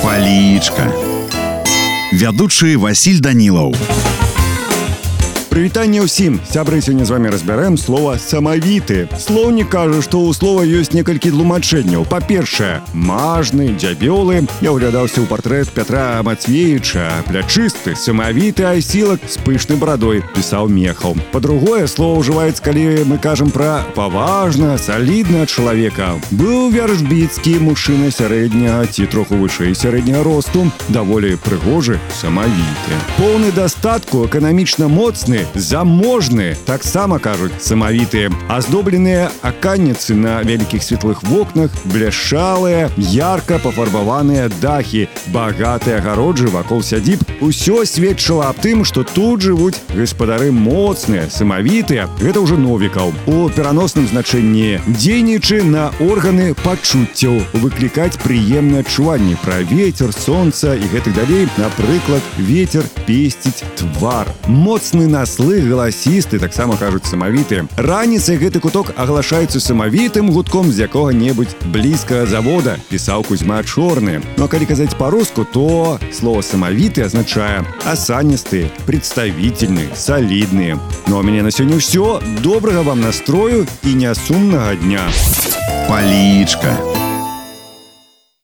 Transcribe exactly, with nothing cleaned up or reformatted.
Палічка. Вядучы Васіль Данілаў. Прывітанне ўсім. Сябры, сёння з вами разбярэм слова «самавіты». Слоўнік кажа, што ў слова ёсць некалькі тлумачэнняў. Па-першае, мажны, дзябёлы. Я ўглядаўся ў партрэт Пятра Мацвеевіча. Плячысты, самавіты асілак з пышнай барадой, пісаў Мехаў. Па-другое, слова ўжываецца, калі мы кажам пра паважна, салідна чалавека. Быў вяршбіцкі мужчына сярэдняга ці троху вышэй сярэдняга росту, даволі прыгожы, самавіты. Поўны дастатку, эканамічна моцны, заможны, таксама кажуць самавітыя. Аздобленыя аканніцы на вялікіх светлых вокнах, бляшалыя, ярка пафарбаваныя дахі, багатыя агароджы вакол сядзіб. Усё сведчыла аб тым, што тут жывуць гаспадары моцныя, самавітыя. Гэта ўжо Новікаў. У пераносным значэнні дзейнічы на органы пачуццяў, выклікаць прыемнае адчуванне пра вецер, сонца і гэтак далей. Напрыклад, вецер песціць твар. Моцны нас слых галасісты, таксама кажуць самавітыя. Раніцай гэты куток аглашаецца самавітым гудком з якога-небудзь блізкага завода, пісаў Кузьма Чорны. Ну а калі казаць па-руску, то слово «самавіты» азначае асаністыя, прадставітельныя, салідныя. Ну а мяне на сёння ўсё. Добрага вам настрою і нясумнага дня. Палічка.